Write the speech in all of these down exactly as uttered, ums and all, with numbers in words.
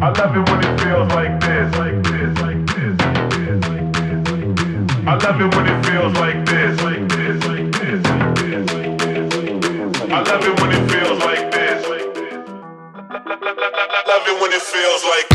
I love it when it feels like this, like this, like this, like this, like this. I love it when it feels like this, like this, like this, like this, like this. I love it when it feels like this, like this. Love it when it feels like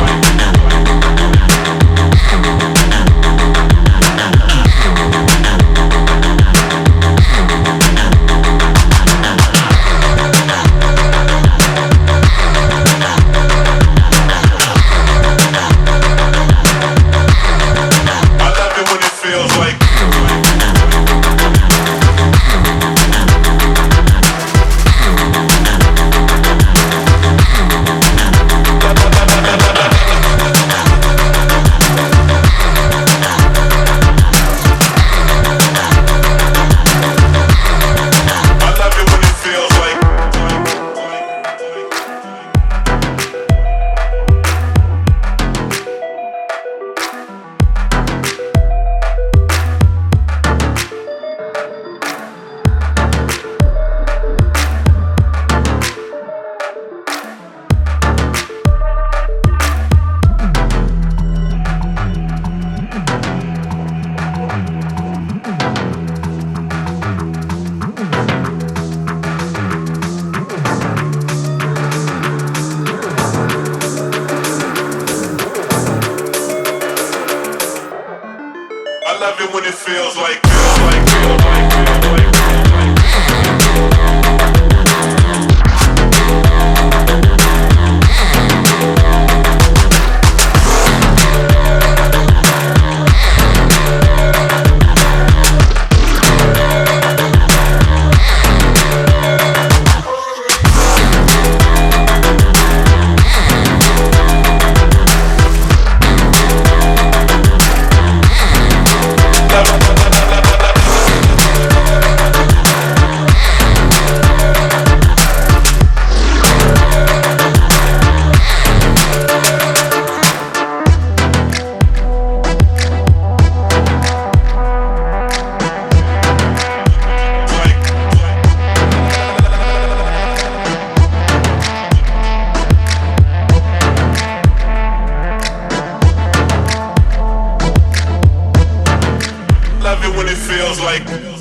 when it feels like, feels like, feels like, feels like, feels like. When it feels like